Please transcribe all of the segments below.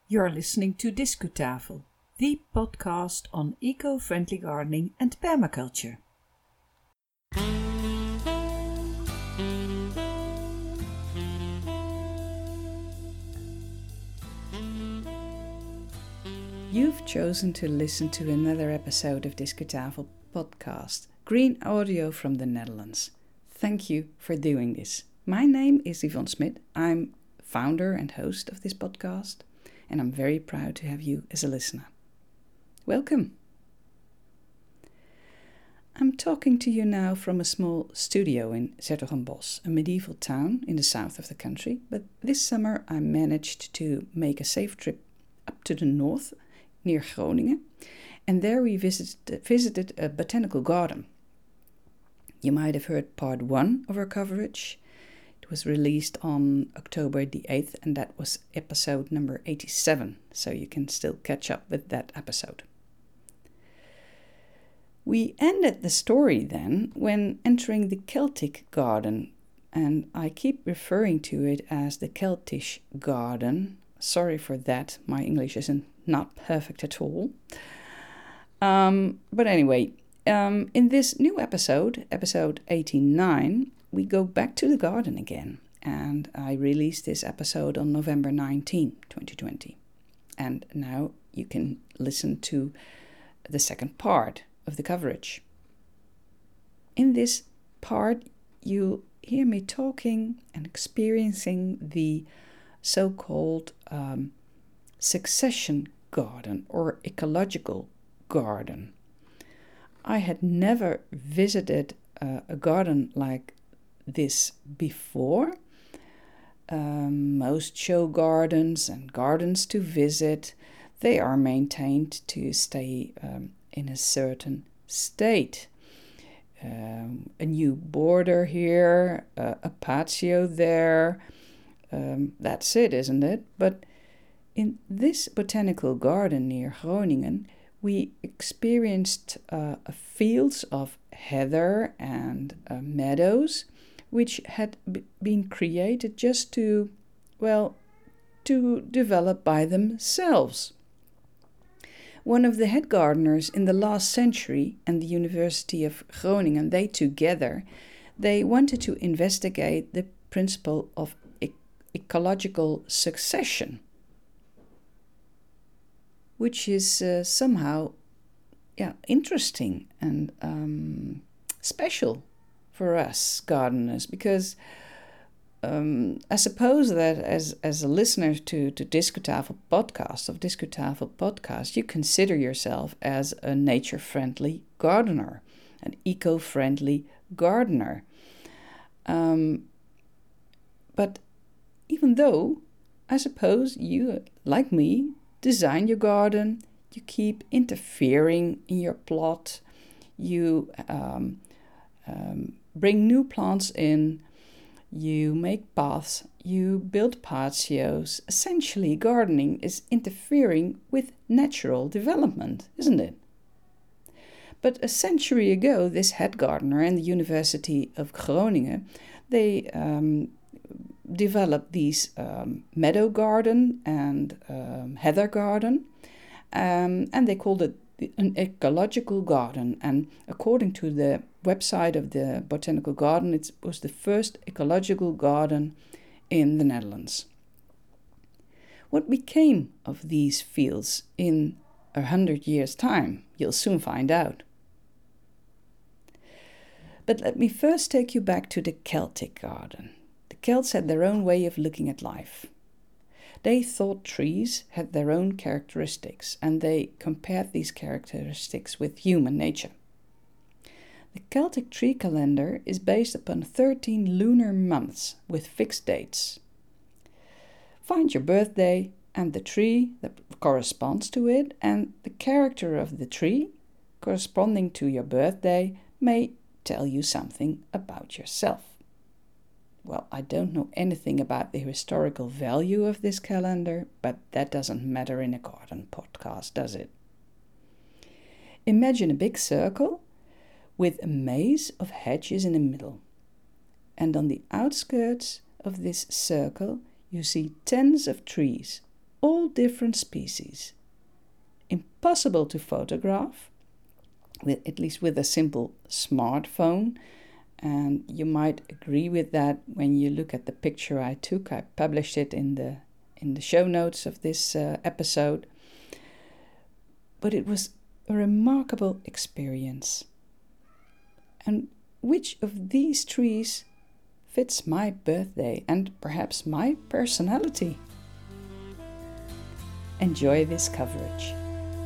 You're listening to Discutafel, the podcast on eco-friendly gardening and permaculture. You've chosen to listen to another episode of Discutafel podcast, green audio from the Netherlands. Thank you for doing this. My name is Yvonne Smit. I'm founder and host of this podcast, and I'm very proud to have you as a listener. Welcome. I'm talking to you now from a small studio in 's-Hertogenbosch, a medieval town in the south of the country, but this summer I managed to make a safe trip up to the north, near Groningen, and there we visited a botanical garden. You might have heard part 1 of our coverage. It was released on October the 8th, and that was episode number 87, so you can still catch up with that episode. We ended the story then when entering the Celtic garden, and I keep referring to it as the Keltish garden. Sorry for that, my English isn't not perfect at all. But anyway, in this new episode 89, we go back to the garden again, and I released this episode on November 19, 2020. And now you can listen to the second part of the coverage. In this part, you'll hear me talking and experiencing the so-called succession garden or ecological garden. I had never visited a garden like this before. Most show gardens and gardens to visit, they are maintained to stay in a certain state. A new border here, a patio there, that's it, isn't it? But in this botanical garden near Groningen, we experienced fields of heather and meadows, which had been created just to develop by themselves. One of the head gardeners in the last century and the University of Groningen, they wanted to investigate the principle of ecological succession, which is somehow interesting and special for us gardeners, because I suppose that as a listener to Discutafel podcast, you consider yourself as a nature-friendly gardener, an eco-friendly gardener. But even though, I suppose you, like me, design your garden, you keep interfering in your plot, you bring new plants in, you make paths, you build patios. Essentially, gardening is interfering with natural development, isn't it? But a century ago, this head gardener in the University of Groningen, they developed these meadow garden and heather garden, and they called it an ecological garden. And according to the website of the botanical garden, it was the first ecological garden in the Netherlands. What became of these fields in 100 years' time? You'll soon find out. But let me first take you back to the Celtic garden. The Celts had their own way of looking at life. They thought trees had their own characteristics, and they compared these characteristics with human nature. The Celtic tree calendar is based upon 13 lunar months with fixed dates. Find your birthday and the tree that corresponds to it, and the character of the tree corresponding to your birthday may tell you something about yourself. Well, I don't know anything about the historical value of this calendar, but that doesn't matter in a garden podcast, does it? Imagine a big circle with a maze of hedges in the middle. And on the outskirts of this circle, you see tens of trees, all different species. Impossible to photograph, at least with a simple smartphone. And you might agree with that when you look at the picture I took. I published it in the show notes of this episode. But it was a remarkable experience. And which of these trees fits my birthday and perhaps my personality? Enjoy this coverage.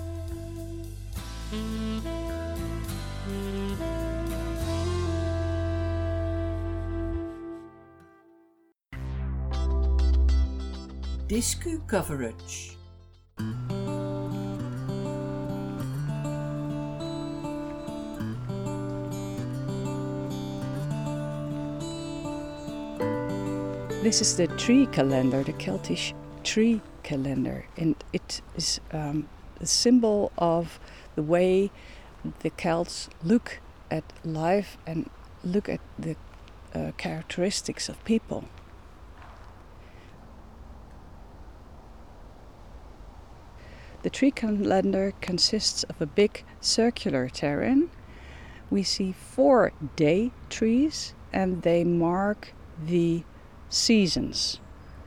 Discu coverage. This is the tree calendar, the Celtic tree calendar, and it is a symbol of the way the Celts look at life and look at the characteristics of people. The tree calendar consists of a big circular terrain. We see 4 day trees and they mark the seasons.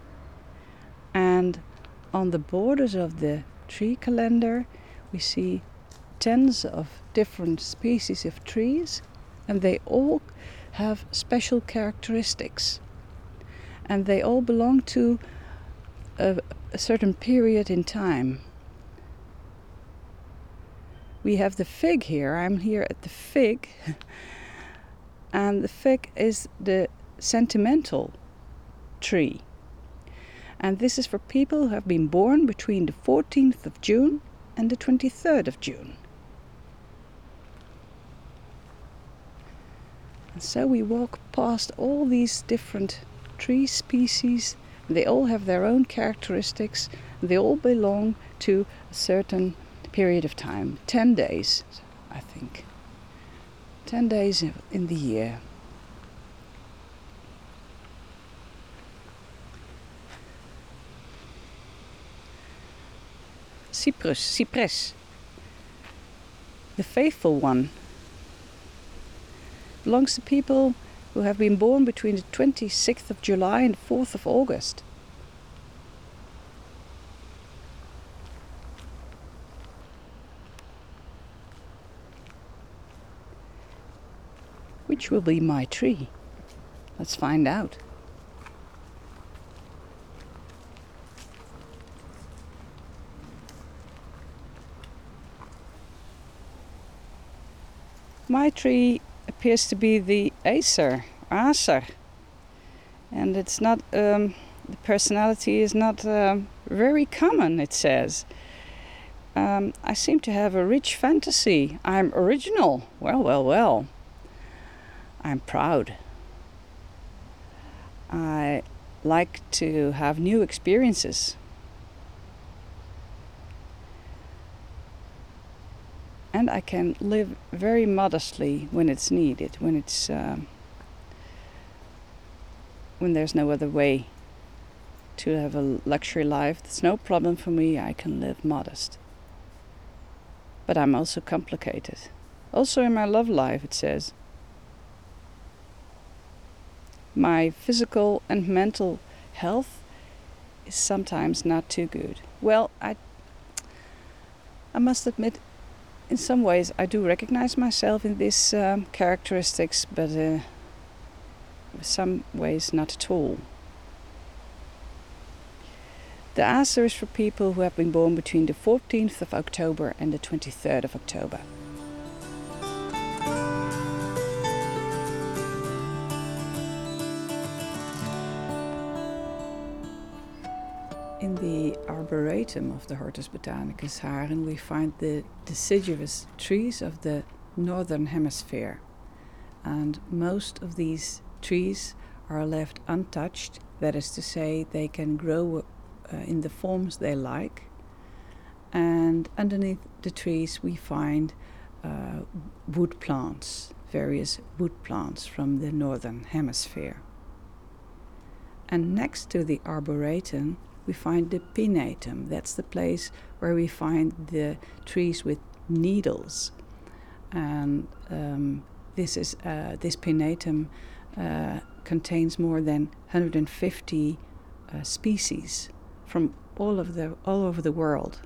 And on the borders of the tree calendar we see tens of different species of trees, and they all have special characteristics. And they all belong to a certain period in time. We have the fig here. I'm here at the fig. And the fig is the sentimental tree. And this is for people who have been born between the 14th of June and the 23rd of June. And so we walk past all these different tree species. They all have their own characteristics. They all belong to a certain period of time. 10 days, I think. 10 days in the year. Cypress, the faithful one, belongs to people who have been born between the 26th of July and 4th of August. Which will be my tree? Let's find out. My tree appears to be the Acer, and it's not. The personality is not very common. It says. I seem to have a rich fantasy. I'm original. Well. I'm proud. I like to have new experiences. And I can live very modestly when it's needed, when there's no other way to have a luxury life. It's no problem for me. I can live modest. But I'm also complicated. Also in my love life, it says. My physical and mental health is sometimes not too good. Well, I must admit, in some ways I do recognize myself in these characteristics, but in some ways not at all. The Acer is for people who have been born between the 14th of October and the 23rd of October. In the arboretum of the Hortus Botanicus Haren we find the deciduous trees of the northern hemisphere, and most of these trees are left untouched. That is to say, they can grow in the forms they like, and underneath the trees we find wood plants, various wood plants from the northern hemisphere. And next to the arboretum we find the pinnatum. That's the place where we find the trees with needles. And this pinnatum contains more than 150 species from all over the world.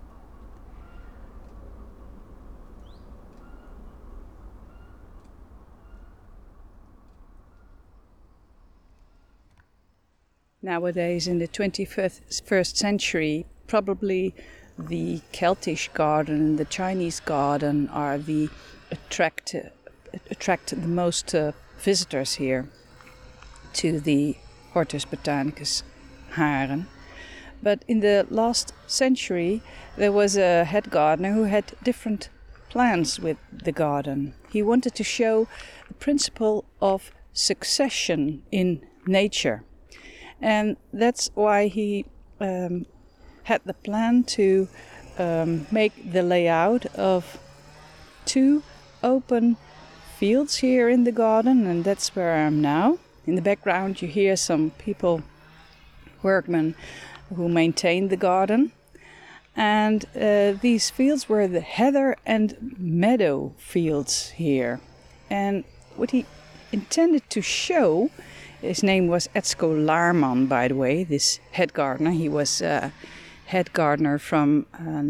Nowadays, in the 21st century, probably the Celtic garden and the Chinese garden are the attract the most visitors here to the Hortus Botanicus Haren. But in the last century, there was a head gardener who had different plans with the garden. He wanted to show the principle of succession in nature. And that's why he had the plan to make the layout of 2 open fields here in the garden, and that's where I am now. In the background you hear some people, workmen, who maintain the garden. And these fields were the heather and meadow fields here. And what he intended to show, his name was Etzko Laarman, by the way, this head gardener. He was head gardener from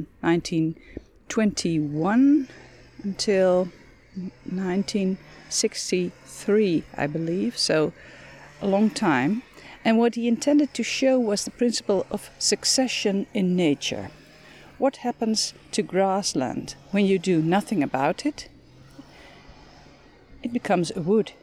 1921 until 1963, I believe, so a long time. And what he intended to show was the principle of succession in nature. What happens to grassland when you do nothing about it? It becomes a wood.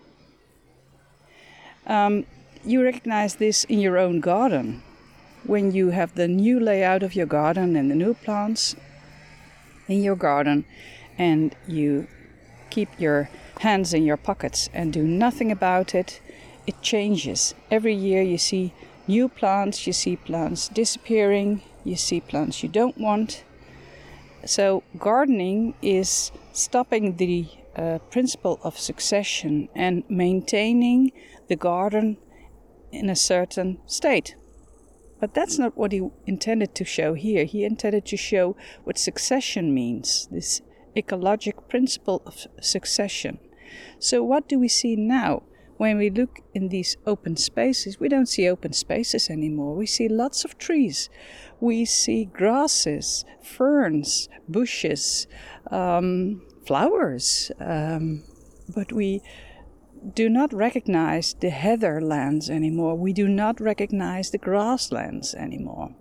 You recognize this in your own garden. When you have the new layout of your garden and the new plants in your garden, and you keep your hands in your pockets and do nothing about it, it changes. Every year you see new plants, you see plants disappearing, you see plants you don't want. So gardening is stopping the principle of succession and maintaining the garden in a certain state. But that's not what he intended to show here. He intended to show what succession means, this ecologic principle of succession. So what do we see now? When we look in these open spaces, we don't see open spaces anymore. We see lots of trees. We see grasses, ferns, bushes, flowers. But we do not recognize the heatherlands anymore. We do not recognize the grasslands anymore.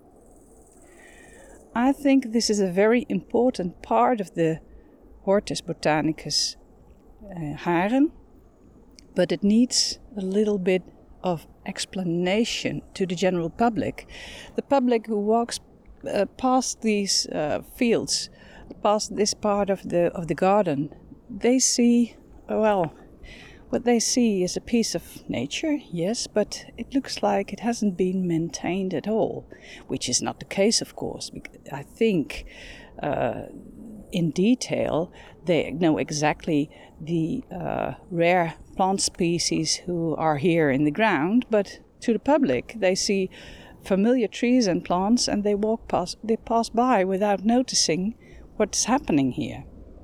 I think this is a very important part of the Hortus Botanicus Haren, but it needs a little bit of explanation to the general public. The public who walks past these fields, past this part of the garden, they see, well, what they see is a piece of nature, yes, but it looks like it hasn't been maintained at all, which is not the case, of course. I think in detail they know exactly the rare plant species who are here in the ground, but to the public they see familiar trees and plants and they pass by without noticing what's happening here.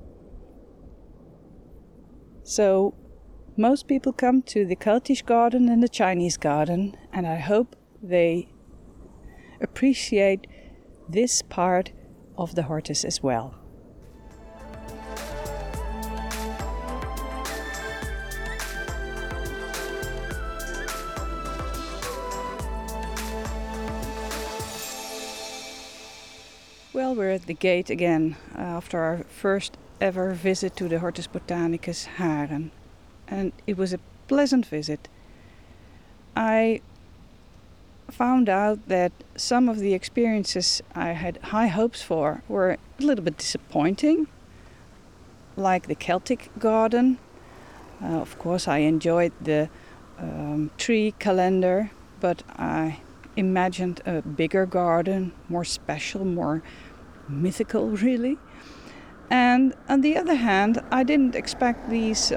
So most people come to the Celtic garden and the Chinese garden, and I hope they appreciate this part of the Hortus as well. Well, we're at the gate again after our first ever visit to the Hortus Botanicus Haren. And it was a pleasant visit. I found out that some of the experiences I had high hopes for were a little bit disappointing, like the Celtic garden. Of course, I enjoyed the tree calendar, but I imagined a bigger garden, more special, more mythical, really. And on the other hand, I didn't expect these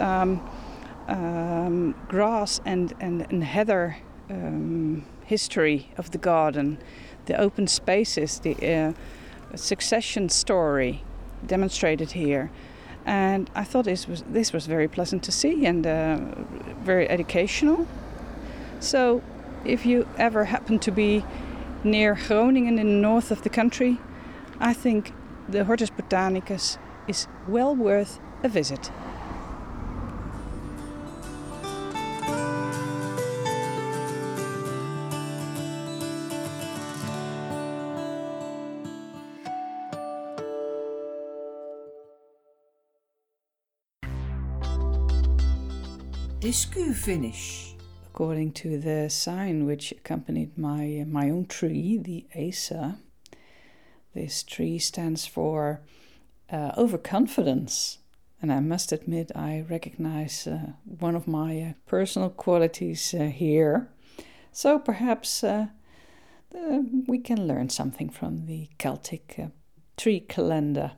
grass and heather history of the garden. the open spaces, the succession story demonstrated here. And I thought this was very pleasant to see and very educational. So if you ever happen to be near Groningen in the north of the country, I think the Hortus Botanicus is well worth a visit. Discu finish. According to the sign which accompanied my own tree, the Asa, this tree stands for overconfidence. And I must admit, I recognize one of my personal qualities here. So perhaps we can learn something from the Celtic tree calendar.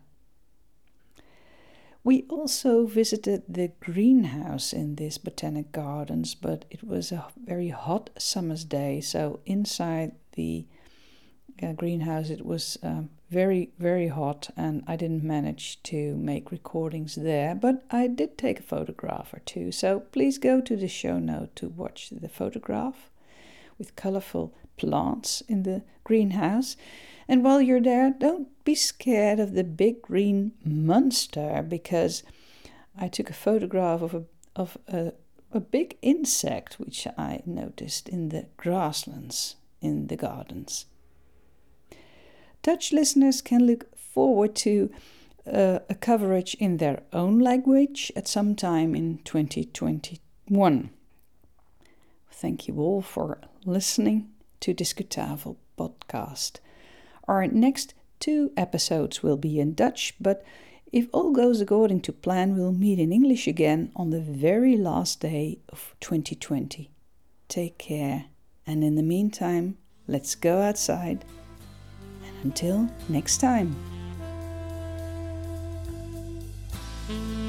We also visited the greenhouse in this Botanic Gardens, but it was a very hot summer's day, so inside the greenhouse it was very, very hot, and I didn't manage to make recordings there, but I did take a photograph or two, so please go to the show note to watch the photograph with colorful plants in the greenhouse. And while you're there, don't be scared of the big green monster, because I took a photograph of a big insect which I noticed in the grasslands in the gardens. Dutch listeners can look forward to a coverage in their own language at some time in 2021. Thank you all for listening to Discutafel podcast. Our next 2 episodes will be in Dutch, but if all goes according to plan, we'll meet in English again on the very last day of 2020. Take care, and in the meantime, let's go outside. And until next time.